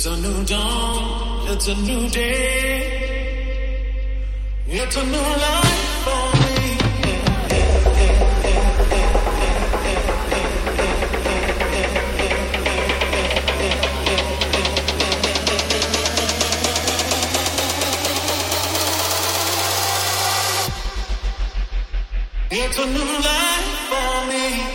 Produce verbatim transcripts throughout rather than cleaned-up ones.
It's a new dawn, it's a new day, it's a new life for me. It's a new life for me.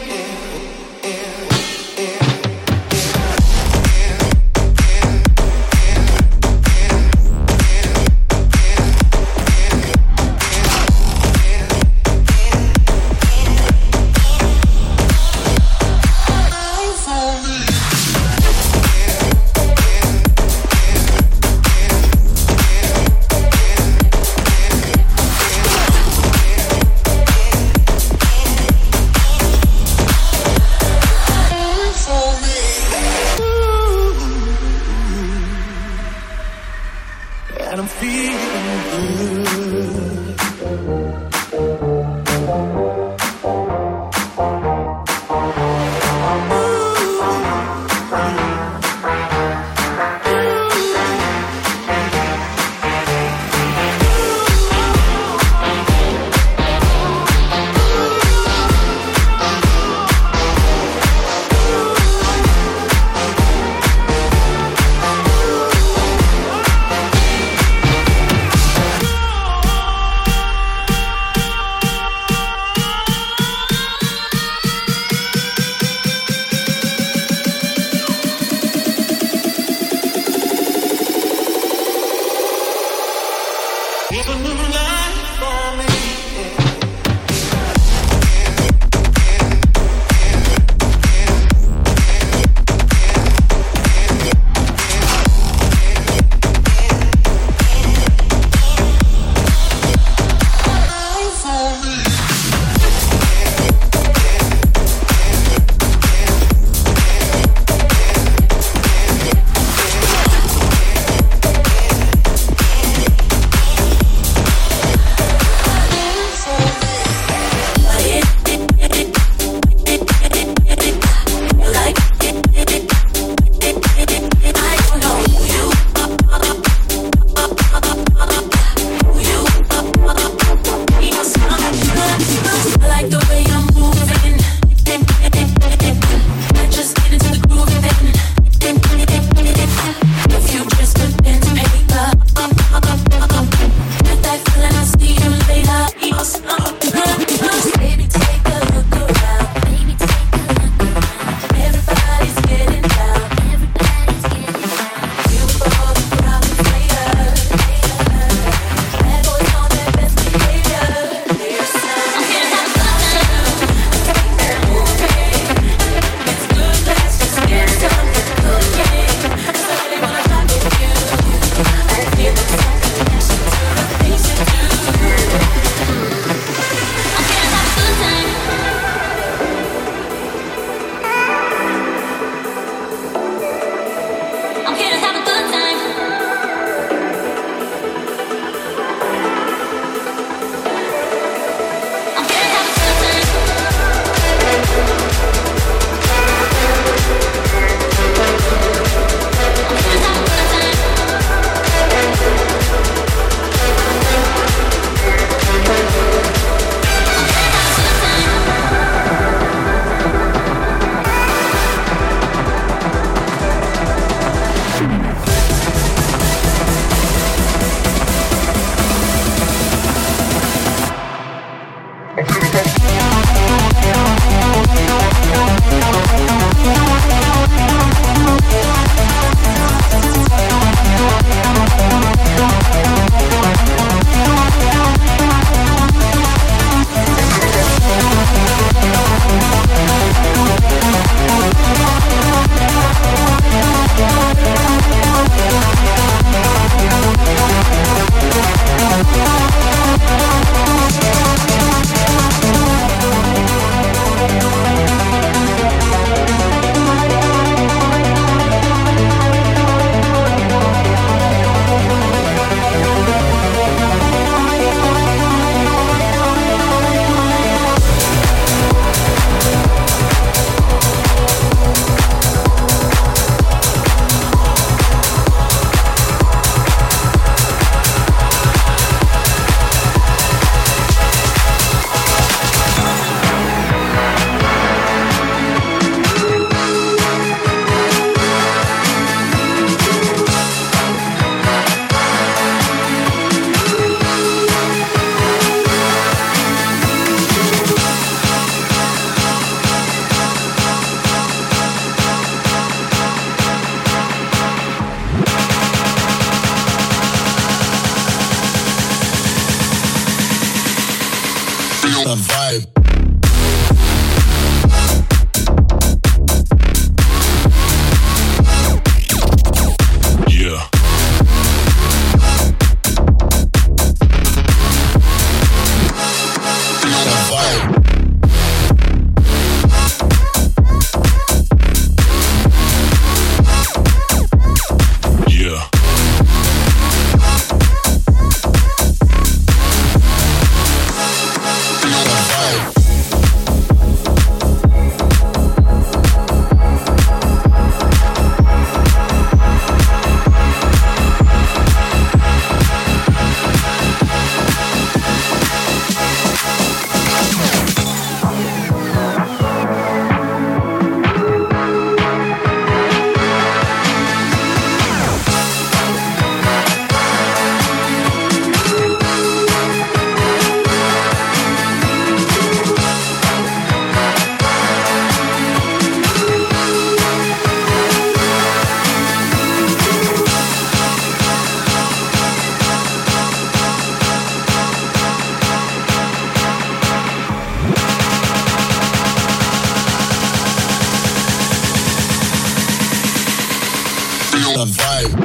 a vibe.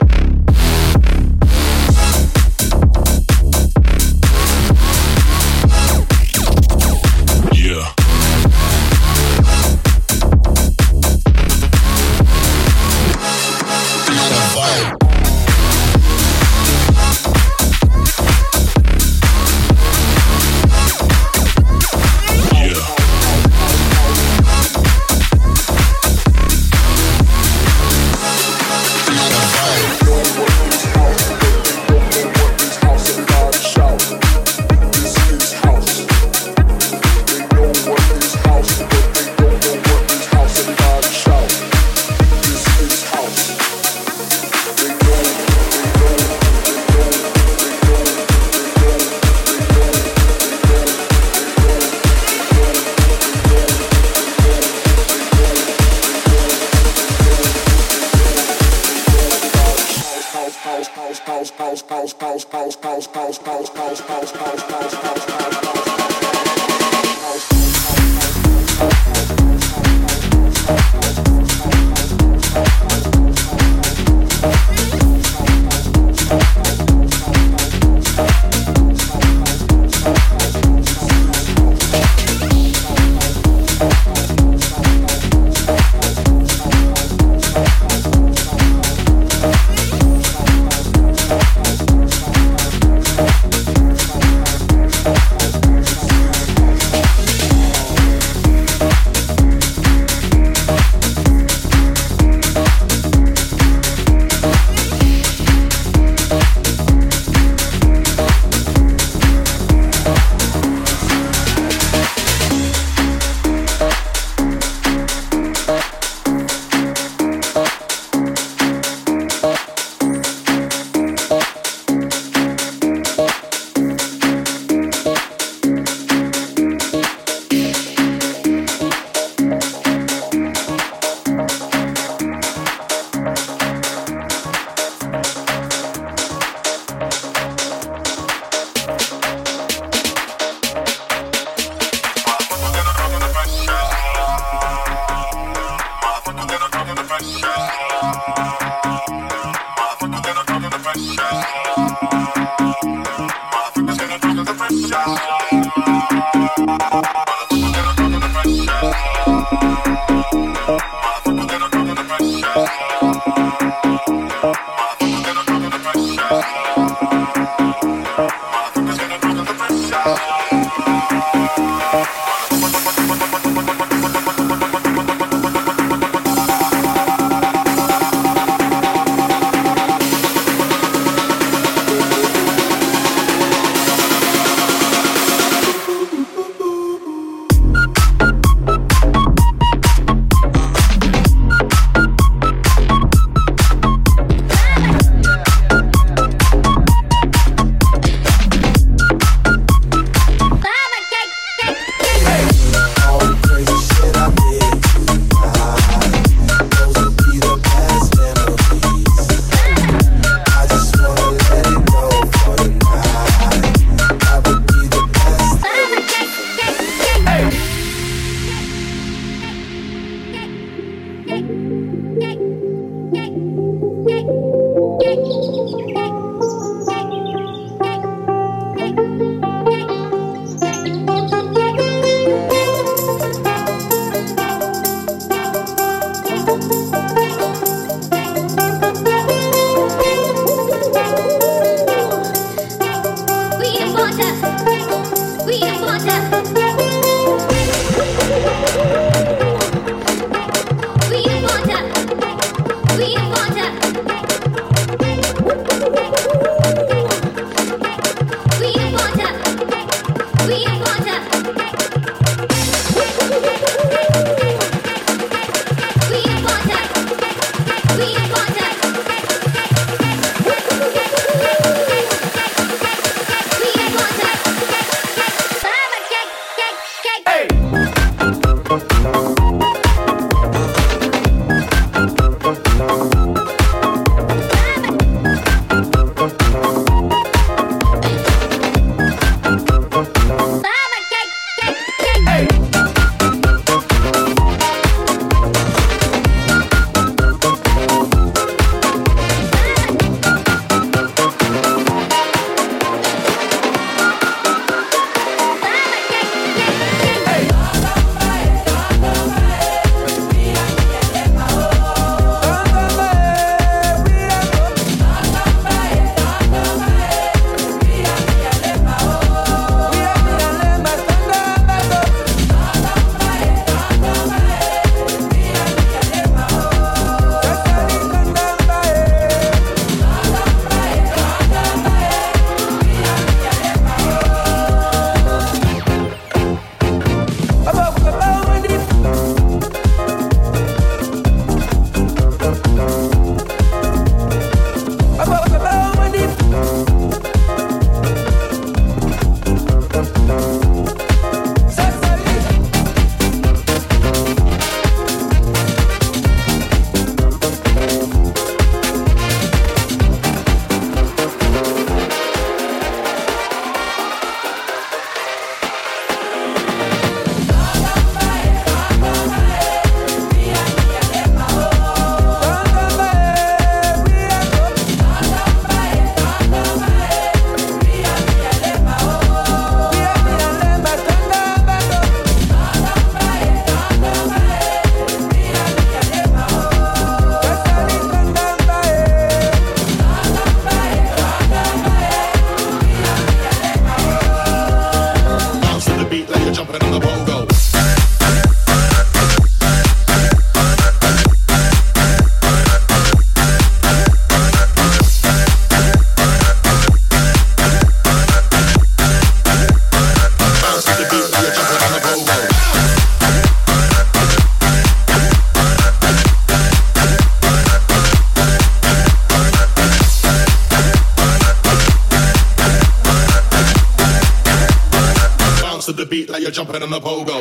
We want the beat like you're jumping on a pogo.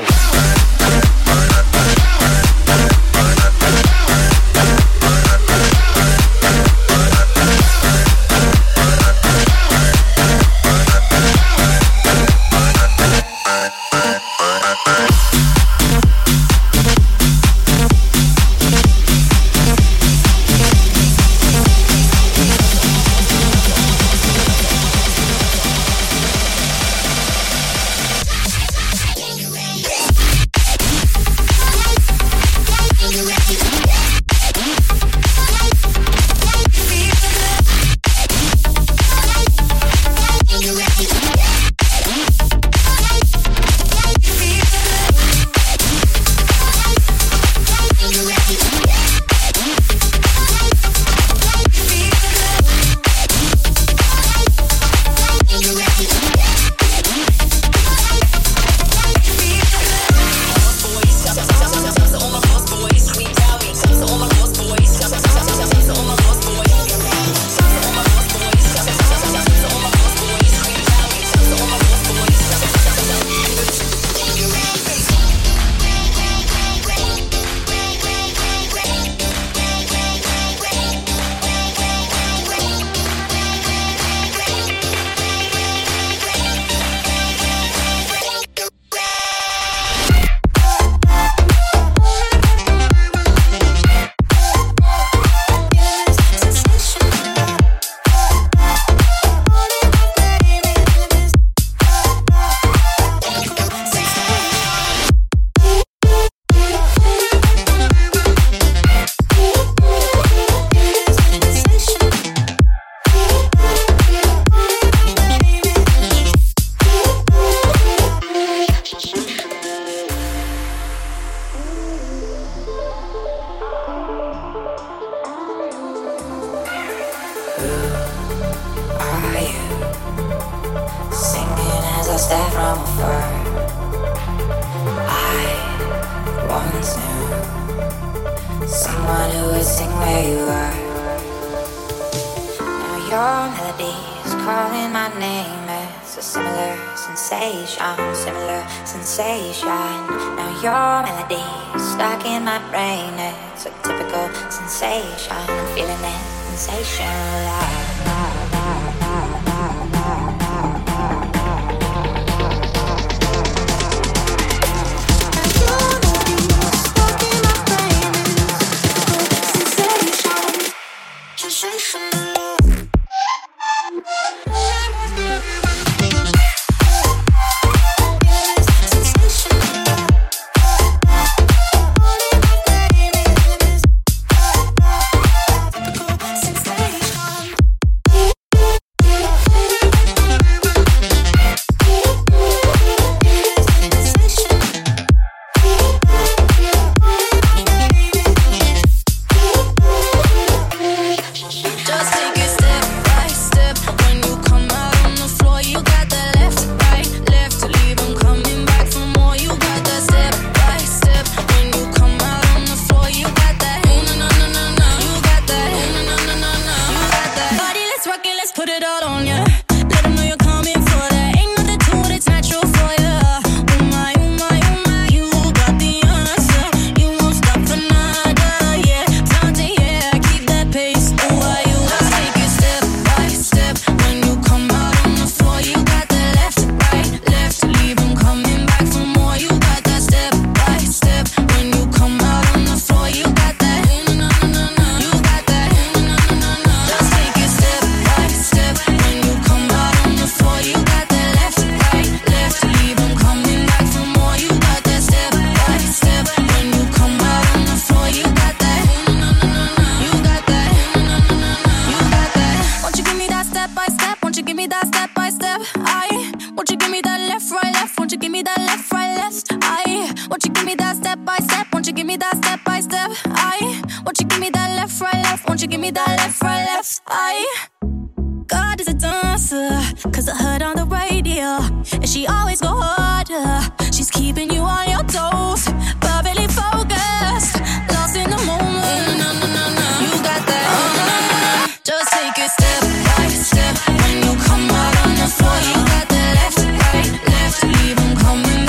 When you come out on the floor, you got the left, right, left, leave 'em coming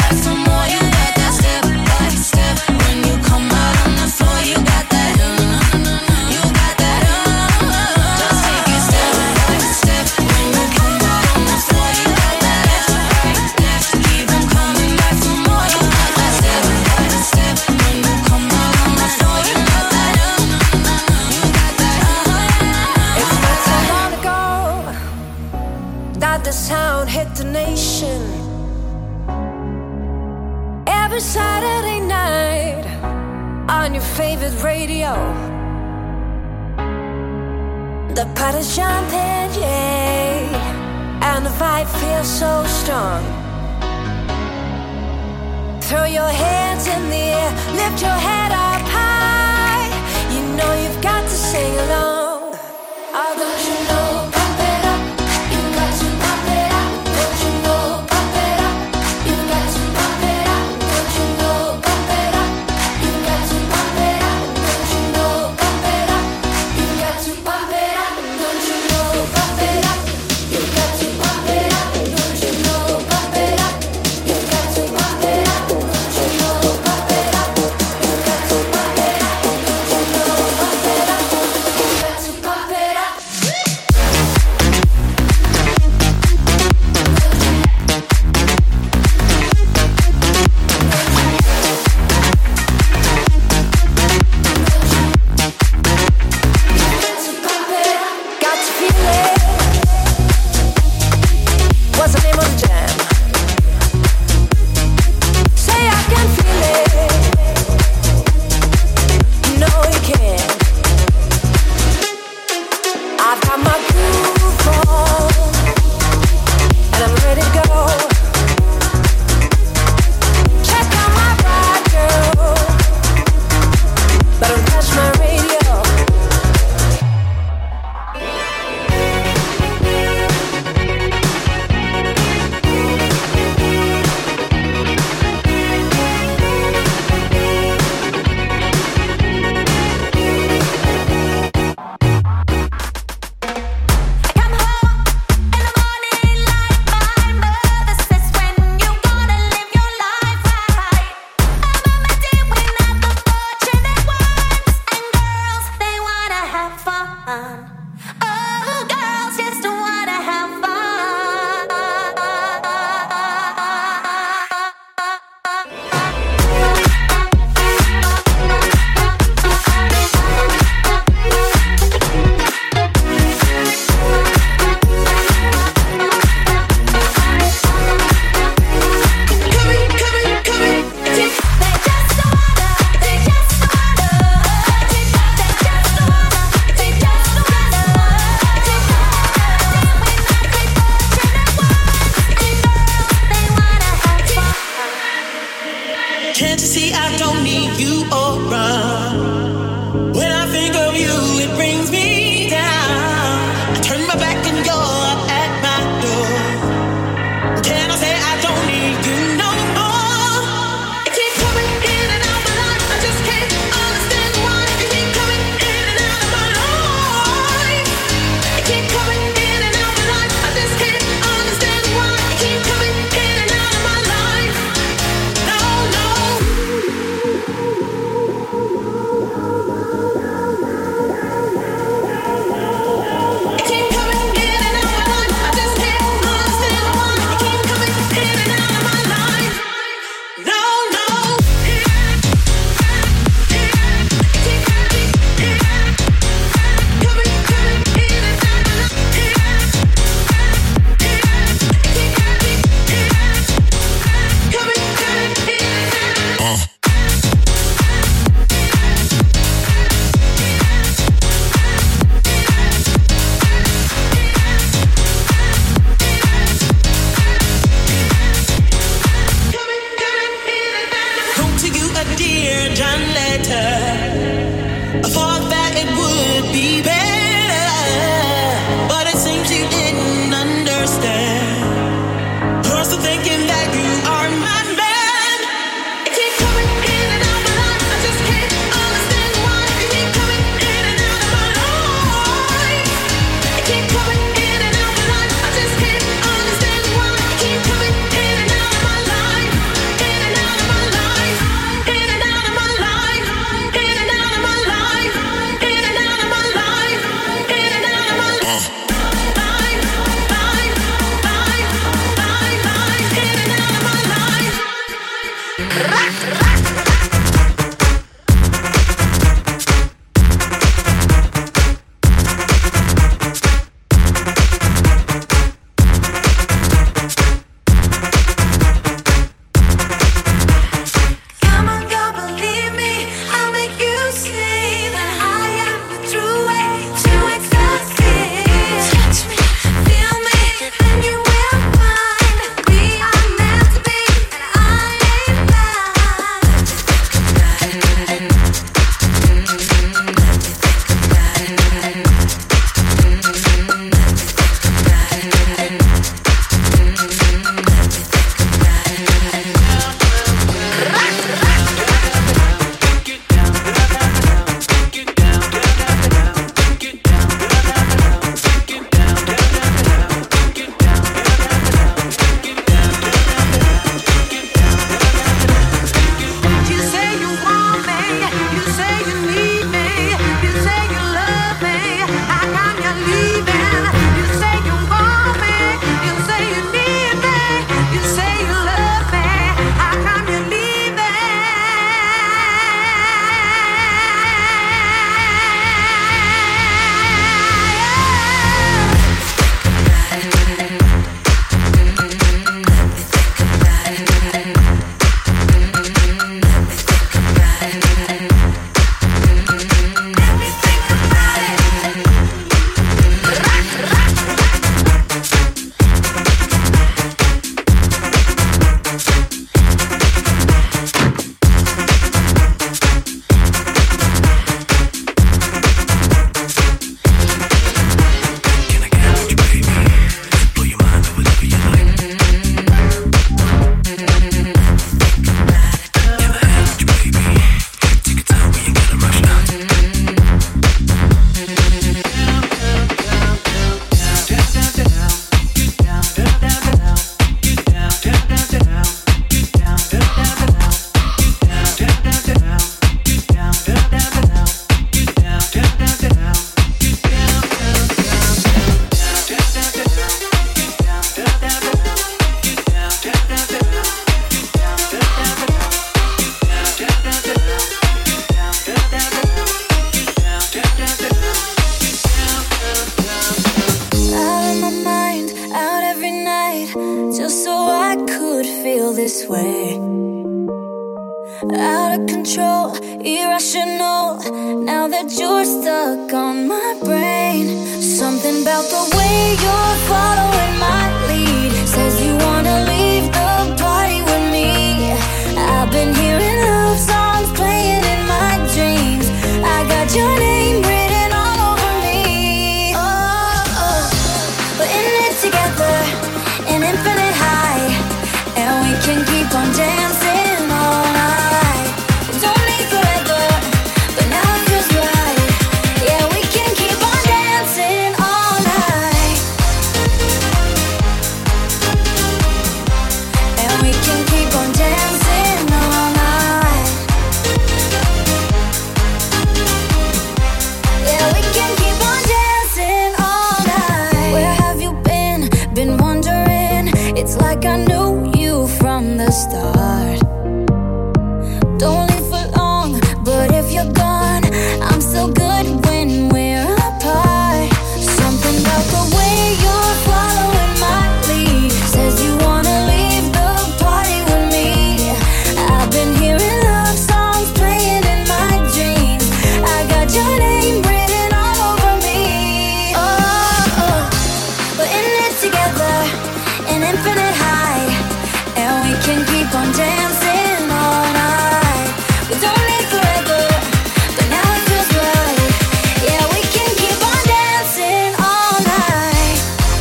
the sound hit the nation. Every Saturday night on your favorite radio, the party's jumping, yeah, and the vibe feels so strong. Throw your hands in the air, lift your head up high. You know you've got to sing along. Oh, don't you know? Pump it up, you've got to pump it up. Don't you know? Pump it up, you've got to pump it up. Don't you know? Pump it up, you've got to pump it up. Don't you know? Pump it up, you've got to pump it up. Don't you know? Pump it up, you've got to pump it up. Don't you know? Pump it up, you've got to pump it up. Don't you know? Pump it up, you've got to pump it up. swear. Out of control, irrational. Now that you're stuck on my brain, something about the way you're following my lead says you wanna leave the party with me. I've been hearing love songs playing in my dreams. I got your name written all over me. Oh, oh. We're in it together, an infinite high, and we can keep on dancing all night. We don't need forever, but now it feels right. Yeah, we can keep on dancing all night, and we can keep on dancing all night. Yeah, we can keep on dancing all night. Where have you been? Been wondering. It's like I knew you from the start. Don't leave for long, but if you're gone, I'm still good when we're apart. Something about the way you're following my lead says you wanna leave the party with me. I've been hearing love songs playing in my dreams. I got your name written all over me. Oh, oh. We're in it together, an infinite high, and we can keep on dancing all night. We don't need forever, but now it feels right. Yeah, we can keep on dancing all night,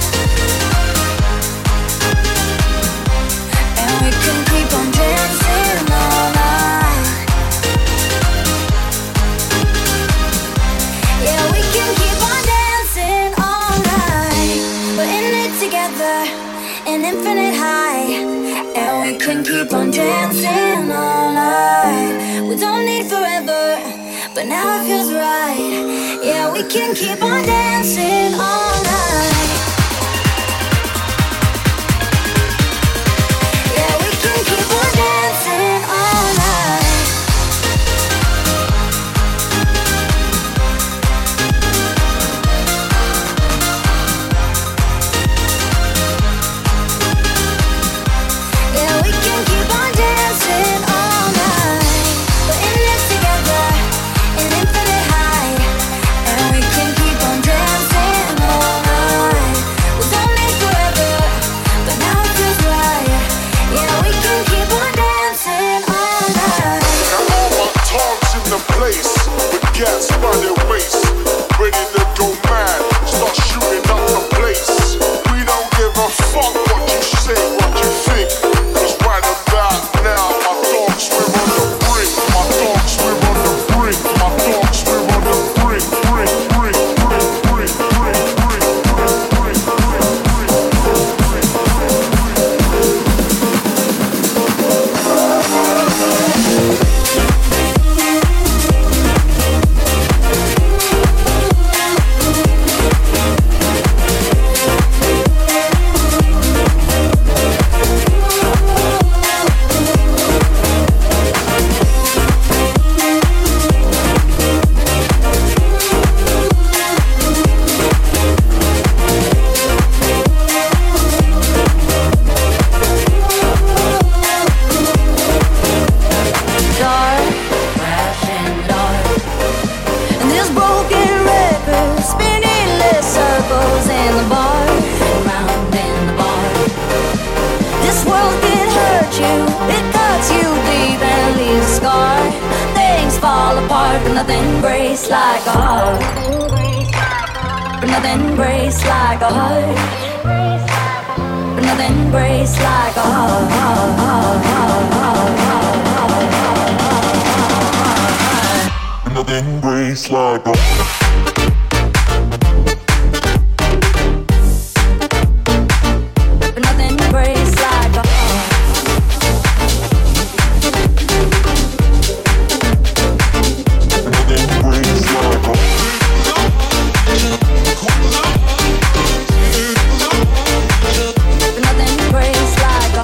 and we can keep on dancing all night. Yeah, we can keep on dancing all night. We're in it together, an infinite high, and we can keep on dancing all night. We don't need forever, but now it feels right. Yeah, we can keep on dancing all night. Yeah, we can keep on dancing all night. Yeah, we can keep on dancing all night. We're in it together, an infinite high, and we can keep on dancing all night. We don't need forever, but now it feels right. Yeah, we can keep on dancing all night. Now all my tongues in the place, with gas by their waist, ready to go mad, start shooting up the place. We don't give a fuck what you say, what you think, 'cause right about now my thoughts we're on the brink, my thoughts we're on the brink, my thoughts we're on the brink, brink, brink, brink, brink, brink, brink, brink, Dark, crashing dark, and this broken record spinning less circles in the bar, round in the bar. This world can hurt you, it cuts you deep and leaves a scar. Things fall apart, but nothing breaks like a heart. But nothing breaks like a heart. But nothing breaks like a heart. nothing breaks like a But nothing breaks like a nothing breaks like a But nothing breaks like a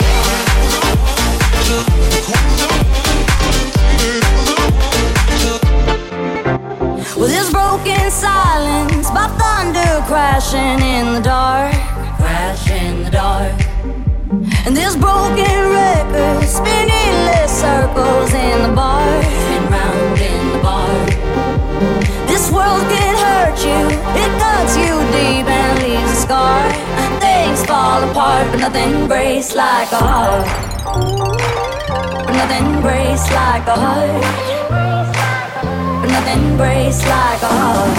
Well, this broken silence by thunder crashing in the dark, crash in the dark. And this broken record spinning less circles in the bar and round in the bar. This world can hurt you, it cuts you deep and leaves a scar. Things fall apart, but nothing breaks like a heart. But nothing breaks like a heart. But nothing breaks like a heart.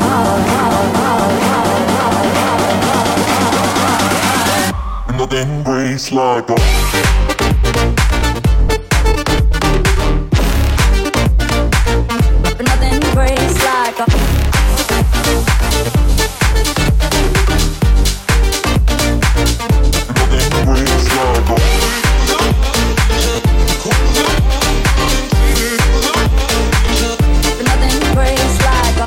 Nothing breaks like a But nothing breaks like a Nothing breaks like a But nothing breaks like a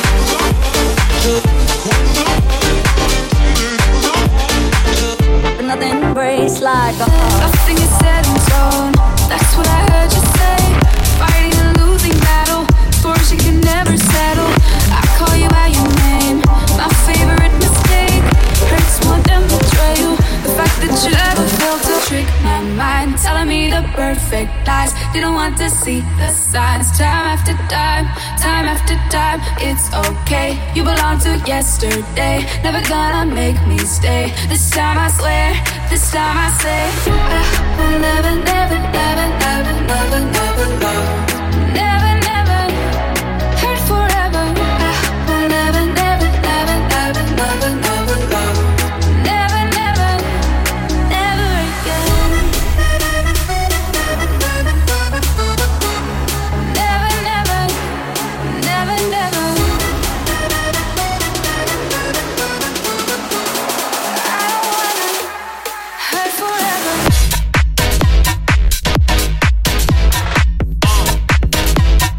But nothing breaks like a Nothing is set in stone. That's what I heard you say. Fighting a losing battle, scores you can never settle. I call you by your name, my favorite mistake. Hurts more than betrayal. The fact that you ever felt to trick my mind, telling me the perfect lies. Didn't want to see the signs. Time after time, time after time. It's okay, you belong to yesterday. Never gonna make me stay. This time I swear, this time I say I will never, never, never, never, never, never love. Never, never, hurt forever. I will never, never, never, never, never, never love. Never, never, never again. Never, never, never, never. I don't wanna hurt forever.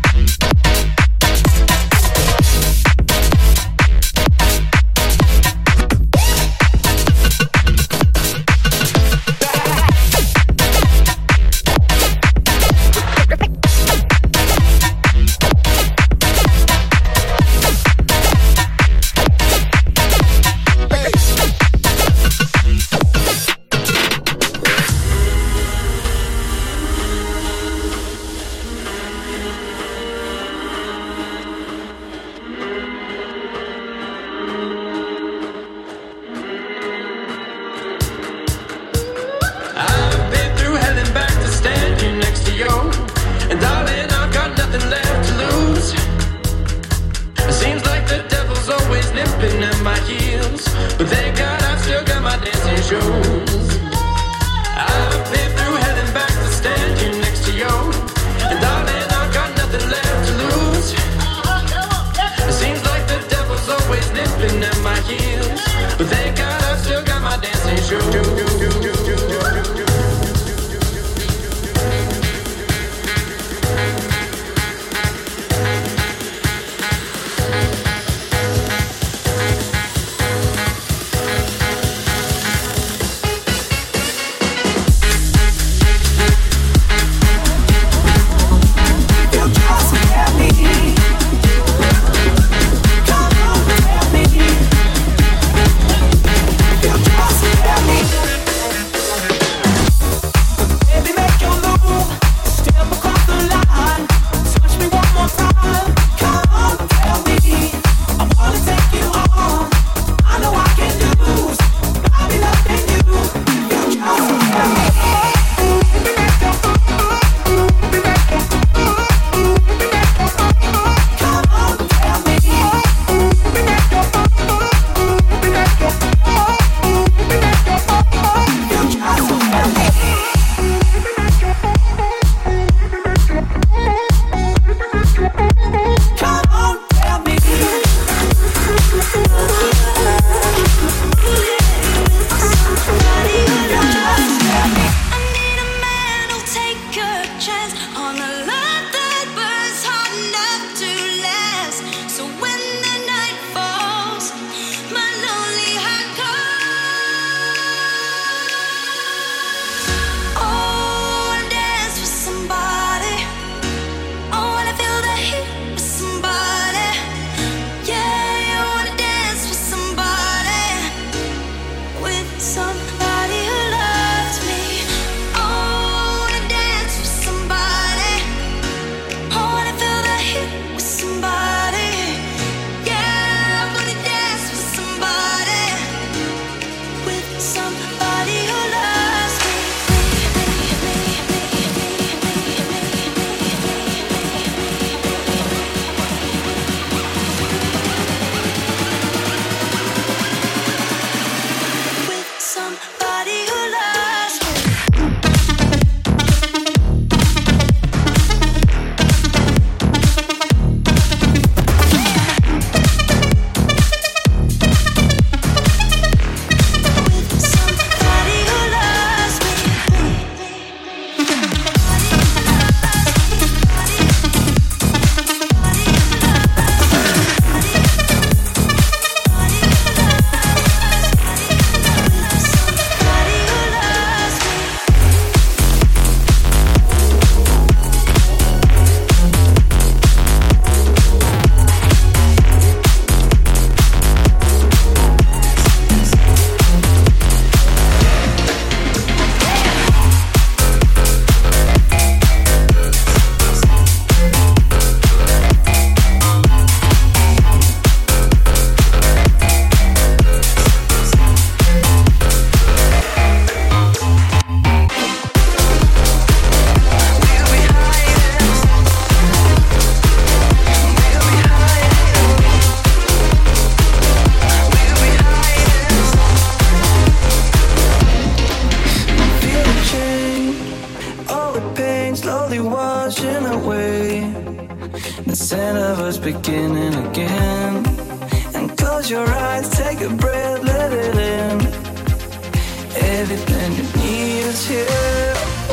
again and again. And close your eyes, take a breath, let it in. Everything you need is here.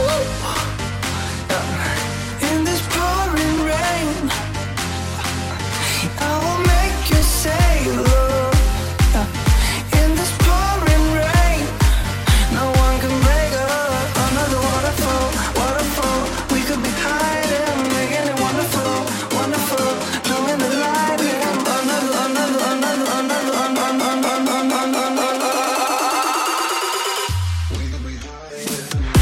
In this pouring rain, I will make you say love. In this pouring rain, no one can break up. Another waterfall, waterfall. We could be hiding, making it wonderful, wonderful. Knowing the lightning. Another, another, another, another, another, another, another, another. We could be hiding.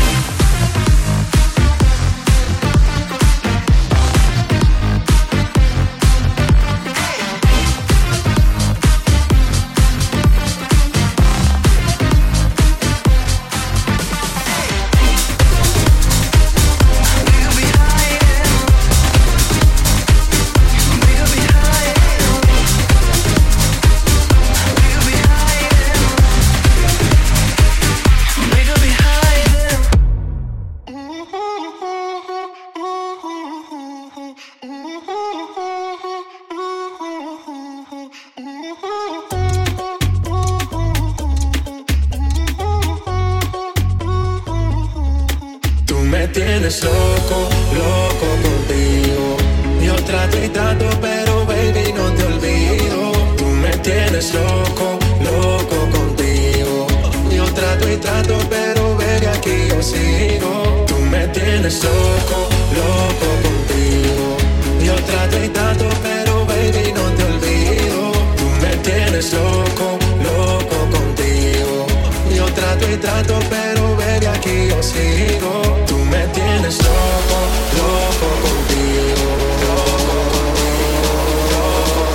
Tú me tienes loco, loco contigo. Yo trato y trato, pero baby no te olvido. Tú me tienes loco, loco contigo. Yo trato y trato, pero baby aquí yo sigo. Tú me tienes loco, loco contigo. Yo trato y trato, pero baby no te olvido. Tú me tienes loco, loco contigo. Yo trato y trato, pero baby aquí yo sigo. Tú me tienes loco, loco contigo. Loco contigo, loco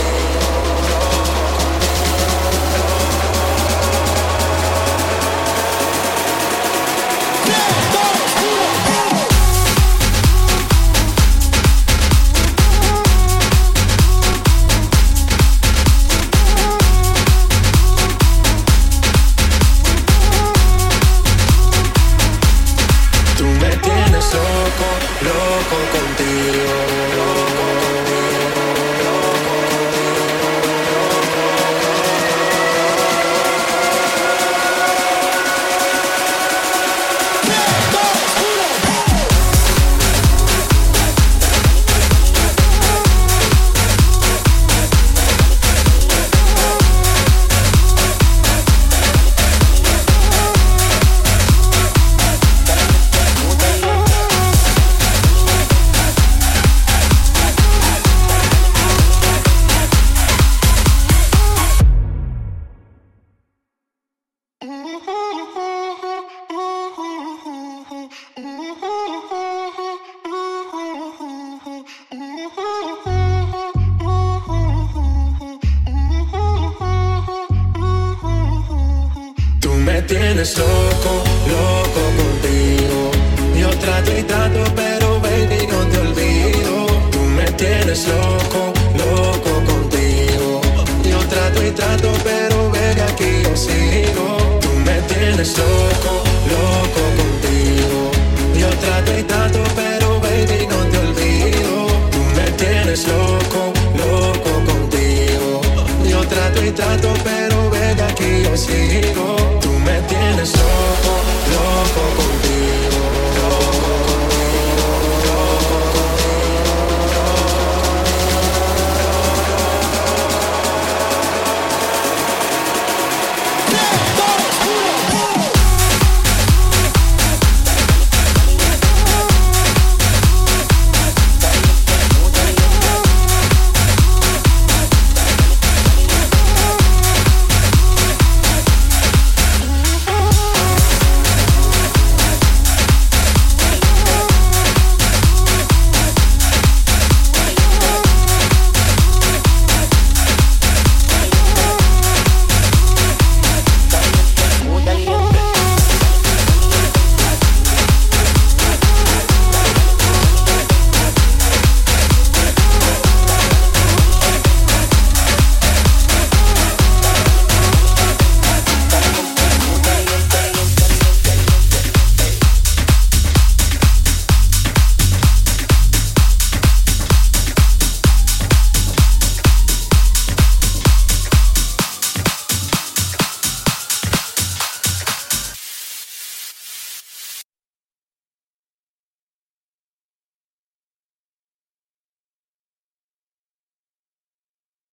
Tú me tienes loco, loco contigo. Loco contigo, loco Tú me tienes loco, loco contigo. Yo trato y trato, pero baby no te olvido. Tú me tienes loco, loco contigo. Yo trato y trato, pero baby aquí yo sigo. Tú me tienes loco, loco contigo. Yo trato y trato, pero baby no te olvido. Tú me tienes loco, loco contigo. Yo trato y trato, pero baby aquí yo sigo.